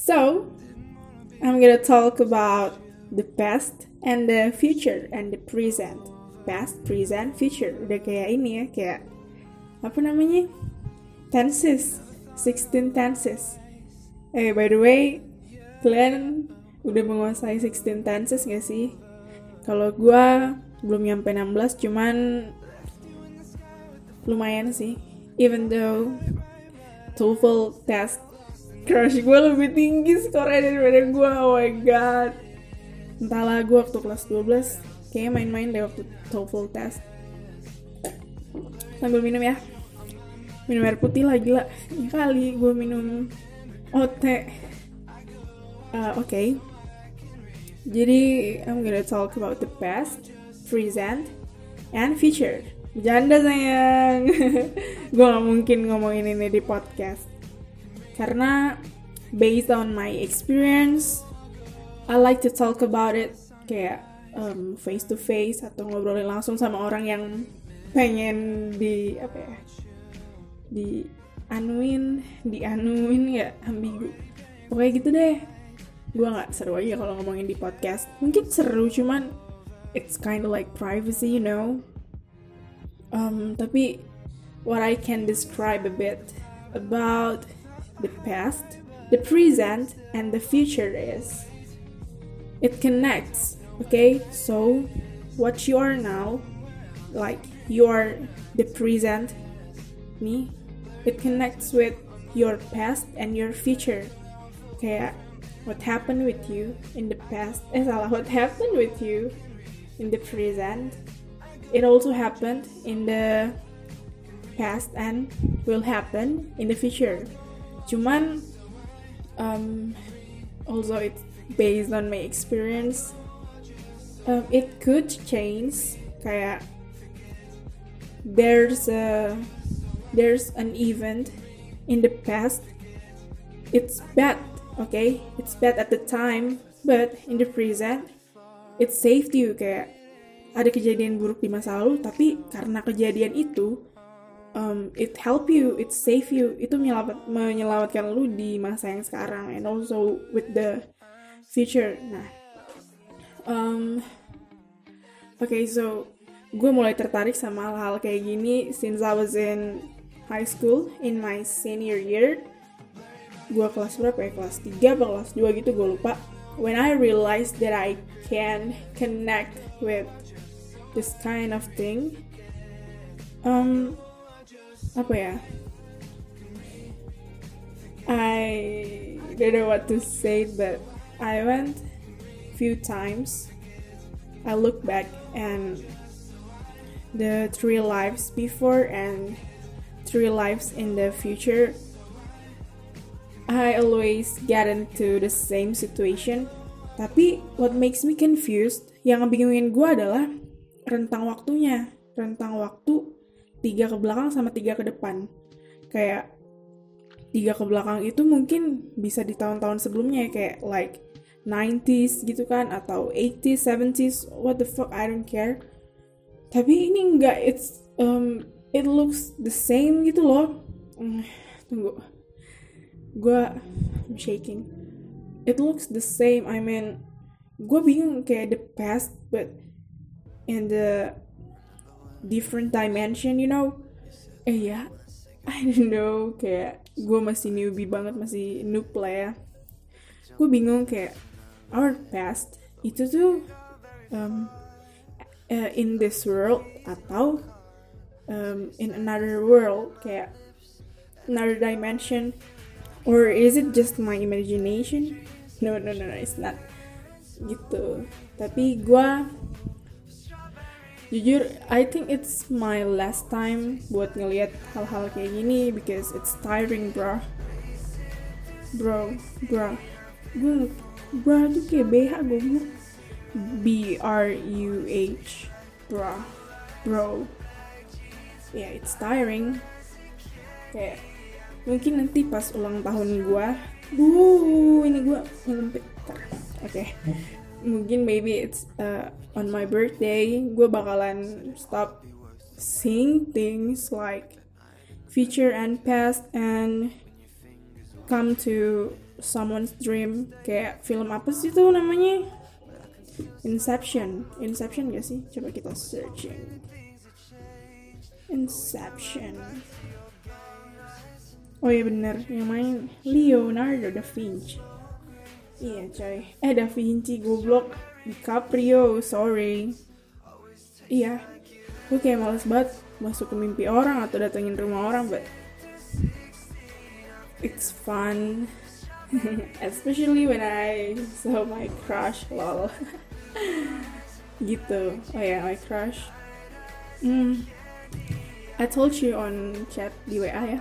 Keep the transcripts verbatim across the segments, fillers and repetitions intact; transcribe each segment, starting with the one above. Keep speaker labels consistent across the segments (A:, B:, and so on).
A: So, I'm gonna talk about the past and the future and the present. Past, present, future. Udah kayak ini ya, kayak apa namanya? Tenses, sixteen tenses. Eh, by the way, kalian udah menguasai sixteen tenses gak sih? Kalau gue belum nyampe enam belas, cuman lumayan sih. Even though TOEFL test crush gue lebih tinggi skornya daripada gue, oh my god. Entahlah, gue waktu kelas dua belas kayaknya main-main deh waktu TOEFL test. Sambil minum ya, minum air putih lah, gila. Ini kali gue minum O T. Uh, Oke, okay. Jadi I'm gonna talk about the past, present, and future. Bercanda sayang. Gue gak mungkin ngomongin ini di podcast, karena based on my experience, I like to talk about it kayak um, face to face atau ngobrolin langsung sama orang yang pengen di apa ya, di anuin, di anuin ya, ambigu. Pokoknya gitu deh. Gue nggak seru aja kalau ngomongin di podcast. Mungkin seru, cuman it's kind of like privacy, you know. Um, tapi what I can describe a bit about the past, the present, and the future is it connects. Okay, so what you are now, like you are the present me, it connects with your past and your future. Kayak what happened with you in the past, eh salah, what happened with you in the present, it also happened in the past and will happen in the future. Cuman um, also it's based on my experience, um, it could change. Kayak there's a there's an event in the past, it's bad, okay, it's bad at the time, but in the present it saved you. Kayak ada kejadian buruk di masa lalu, tapi karena kejadian itu um, it help you, it save you, itu menyelamat, menyelamatkan lu di masa yang sekarang, and also with the future. Nah, um, oke, okay, so gue mulai tertarik sama hal-hal kayak gini since I was in high school in my senior year. Gue kelas berapa ya, kelas tiga atau kelas dua gitu, gue lupa. When I realized that I can connect with this kind of thing, um, apa ya, I don't know what to say, but I went few times, I look back and the three lives before and three lives in the future, I always get into the same situation. Tapi what makes me confused, yang ngebingungin gue adalah rentang waktunya. Rentang waktu tiga ke belakang sama tiga ke depan. Kayak tiga ke belakang itu mungkin bisa di tahun-tahun sebelumnya, kayak like nineties gitu kan, atau eighties, seventies, what the fuck, I don't care. Tapi ini enggak, it's um, it looks the same gitu loh. Mm, tunggu, gue I'm shaking. It looks the same. I mean, gue bingung kayak the past, but in the different dimension, you know. Eh ya, I don't know, kayak gue masih newbie banget, masih noob lah ya. Gue bingung kayak our past itu tuh um, uh, in this world atau um, in another world, kayak another dimension, or is it just my imagination? No, no, no, no, it's not gitu. Tapi gue jujur, I think it's my last time buat ngelihat hal-hal kayak gini, because it's tiring, bro. Bro, bro. Gue, bro tuh kayak B H, gue B R U H, bro. Bro. Yeah, it's tiring. Kayak mungkin nanti pas ulang tahun gue, bu, ini gue ngelimpit. Oke, okay. Mungkin maybe it's uh, on my birthday, gue bakalan stop seeing things like future and past and come to someone's dream. Kayak film apa sih tuh namanya? Inception. Inception gak sih? Coba kita searching. Inception. Oh iya bener, yang main Leonardo da Vinci. Iya coy. Eh Da Vinci, goblok. DiCaprio, sorry. Iya, gue kayak males banget masuk ke mimpi orang atau datengin rumah orang, but it's fun. Especially when I saw my crush, lol. Gitu. Oh ya, yeah, my crush. Hmm. I told you on chat di W A ya.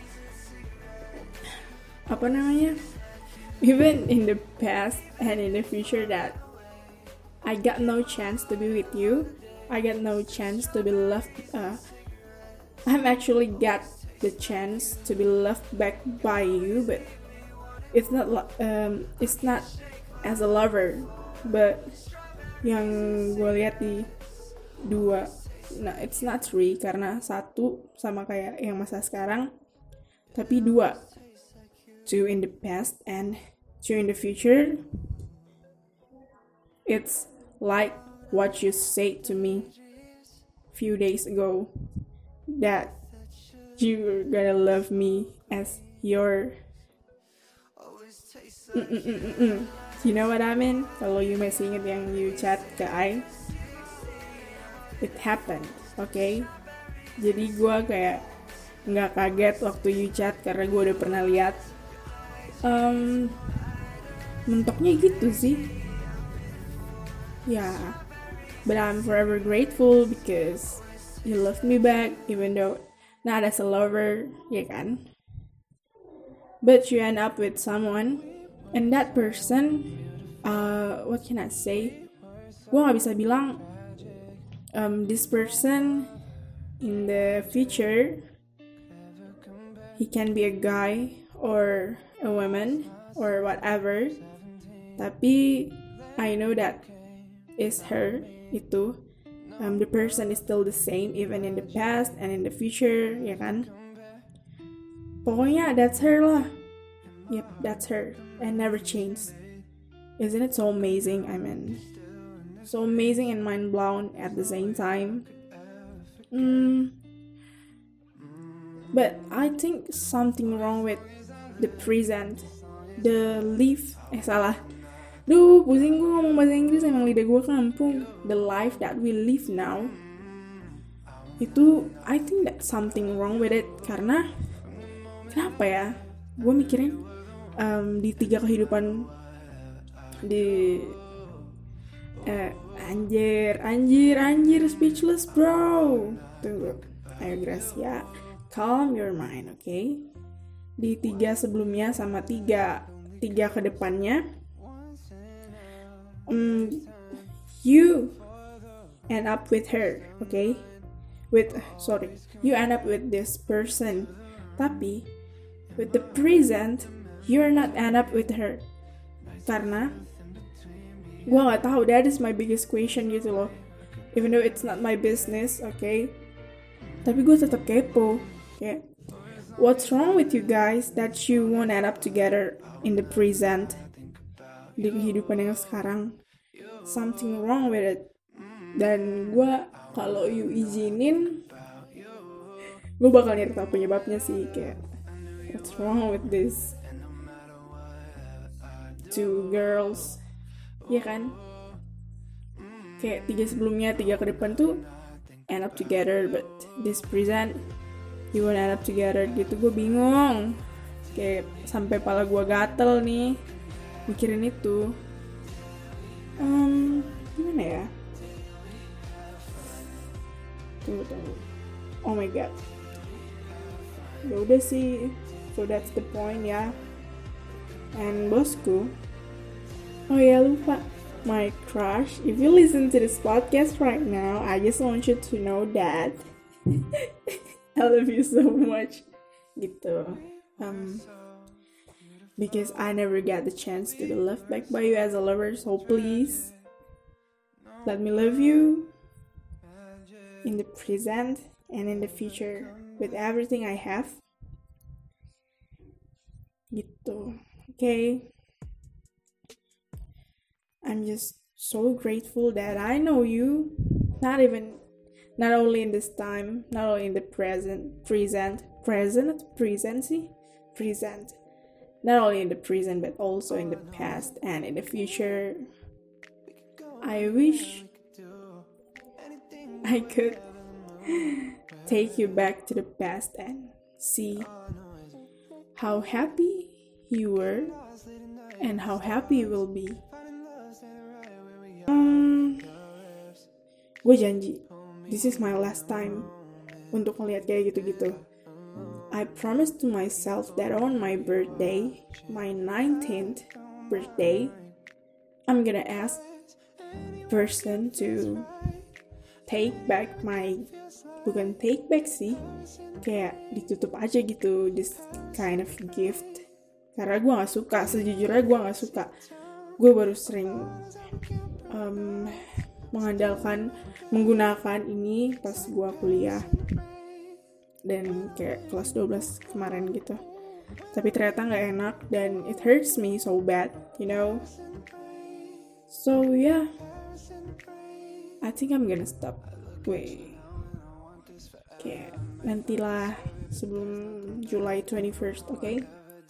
A: Apa namanya? Even in the past and in the future that I got no chance to be with you. I got no chance to be loved. Uh, I'm actually got the chance to be loved back by you, but it's not. Um, it's not as a lover, but yang gue lihat di dua. Nah, it's not three karena satu sama kayak yang masa sekarang, tapi dua. Two in the past and two in the future. It's like what you said to me a few days ago, that you're gonna love me as your Mm-mm-mm-mm. You know what I mean? Kalau you masih inget yang you chat ke I, it happened, okay? Jadi gue kayak nggak kaget waktu you chat karena gue udah pernah lihat. Um, mentoknya gitu sih. Ya, yeah. But I'm forever grateful because you loved me back, even though not as a lover, ya kan? But you end up with someone, and that person, uh, what can I say? Gue gak bisa bilang, um, this person in the future, he can be a guy or a woman or whatever. Tapi I know that is her. Itu um, the person is still the same even in the past and in the future, ya kan? Pokoknya that's her lah. Yep, that's her and never changed. Isn't it so amazing? I mean, so amazing and mind blown at the same time. Mm. But I think something wrong with the present, the life. Eh salah. Duh, pusing gue ngomong bahasa Inggris, emang lidah gue kampung. The life that we live now, itu I think that something wrong with it. Karena kenapa ya, gue mikirin um, di tiga kehidupan di eh, anjir anjir anjir speechless bro. Tunggu, ayo Gracia, calm your mind, oke? Okay? Di tiga sebelumnya sama tiga tiga kedepannya, Um, you end up with her, okay? With sorry, you end up with this person. Tapi with the present, you're not end up with her. Karena gue nggak tahu. That is my biggest question gitu loh. Even though it's not my business, okay? Tapi gue tetap kepo. Kayak, what's wrong with you guys that you won't end up together in the present? Di kehidupan yang sekarang, something wrong with it. Dan gue kalau you izinin, gue bakal nyari tahu penyebabnya sih. Kayak, what's wrong with this two girls, ya kan? Kayak tiga sebelumnya, tiga ke depan tuh end up together, but this present you won't end up together gitu. Gue bingung, kayak sampai pala gue gatel nih mikirin itu. Um, gimana ya? Tunggu, tunggu. Oh my god. Ya udah sih. So that's the point ya. And bosku. Oh ya, lupa. My crush. If you listen to this podcast right now, I just want you to know that I love you so much. Gitu. Um. Because I never got the chance to be loved back by you as a lover, so please let me love you in the present and in the future with everything I have. Gitu, oke? Okay, I'm just so grateful that I know you, not even, not only in this time, not only in the present, present, present, presency, present, not only in the present, but also in the past and in the future. I wish I could take you back to the past and see how happy you were and how happy you will be. Um, gue janji, this is my last time untuk ngeliat kayak gitu-gitu. I promised to myself that on my birthday, my nineteenth birthday, I'm gonna ask person to take back my, bukan take back sih, kayak ditutup aja gitu, this kind of gift. Karena gue gak suka, sejujurnya gue gak suka. Gue baru sering um, mengandalkan, menggunakan ini pas gue kuliah. Dan kayak kelas dua belas kemarin gitu. Tapi ternyata gak enak dan it hurts me so bad, you know. So yeah, I think I'm gonna stop. Wait, kayak nantilah sebelum July twenty-first, okay?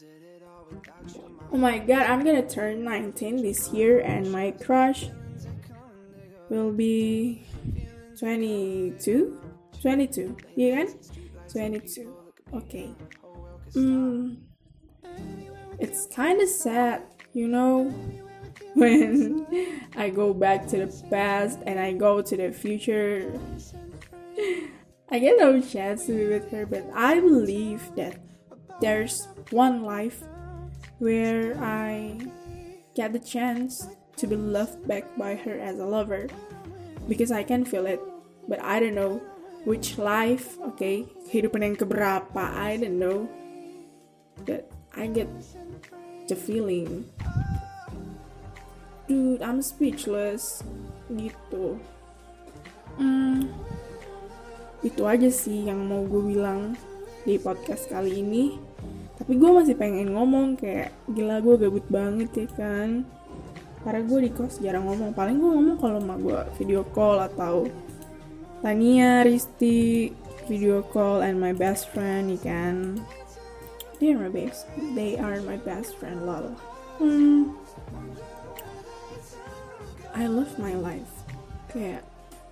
A: Oh my god, I'm gonna turn nineteen this year and my crush will be twenty-two? twenty-two, iya kan? twenty-two, okay. Mm, it's kinda sad, you know, when I go back to the past and I go to the future. I get no chance to be with her, but I believe that there's one life where I get the chance to be loved back by her as a lover, because I can feel it, but I don't know which life, okay, kehidupan yang keberapa, I don't know, but I get the feeling. Dude, I'm speechless, gitu. Hmm, itu aja sih yang mau gue bilang di podcast kali ini. Tapi gue masih pengen ngomong, kayak gila gue gabut banget ya kan. Karena gue di kos jarang ngomong. Paling gue ngomong kalau sama gue video call atau Tania, Risti video call, and my best friend, ya kan. They are my best. They are my best friend, lol. Hmm. I love my life. Kayak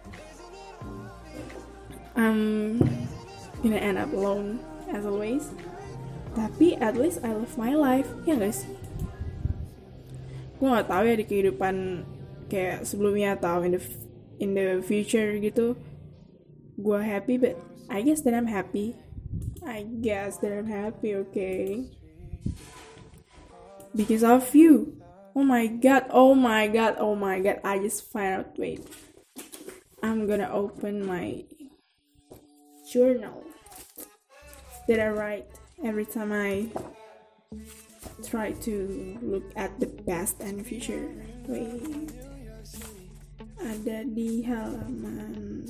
A: I'm gonna end up alone as always. Tapi at least I love my life, ya gak sih? Gue gak tahu ya di kehidupan kayak sebelumnya atau in the in the future gitu, gue happy, but I guess that I'm happy. I guess that I'm happy, okay? Because of you. Oh my god, oh my god, oh my god, I just found out, wait. I'm gonna open my journal that I write every time I try to look at the past and future. Wait, ada di halaman.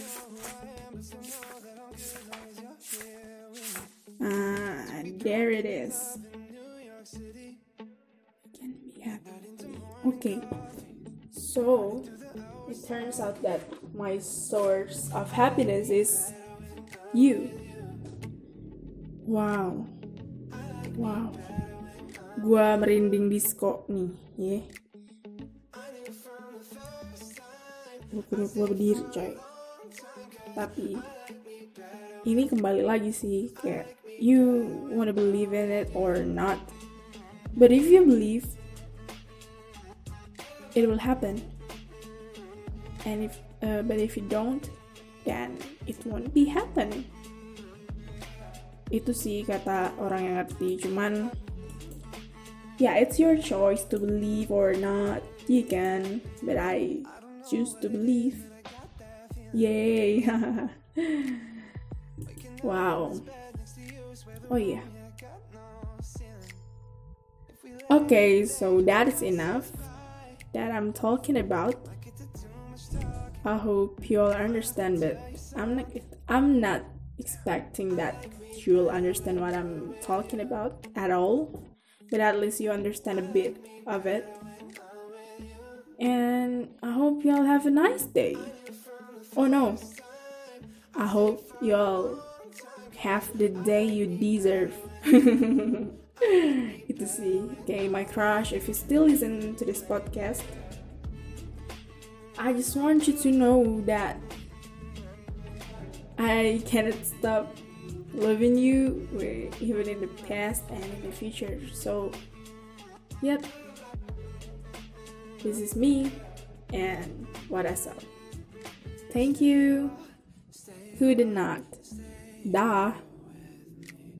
A: Ah, there it is. Can be happy. Okay, so it turns out that my source of happiness is you. Wow, wow, gua merinding disco nih, ya. Yeah. Gua gua berdiri, coy. Tapi ini kembali lagi sih, kayak you wanna believe in it or not. But if you believe, it will happen. And if, uh, but if you don't, then it won't be happening. Itu sih kata orang yang ngerti. Cuman yeah, it's your choice to believe or not. You can, but I choose to believe. Yay. Wow. Oh yeah. Okay, so that is enough that I'm talking about. I hope you all understand it. I'm not I'm not expecting that you'll understand what I'm talking about at all, but at least you understand a bit of it. And I hope y'all have a nice day. Oh no, I hope y'all have the day you deserve. Itu sih. Okay, my crush, if you still listen to this podcast, I just want you to know that I cannot stop loving you, even in the past and in the future. So, yep. This is me and what I saw. Thank you. Good night. Dah.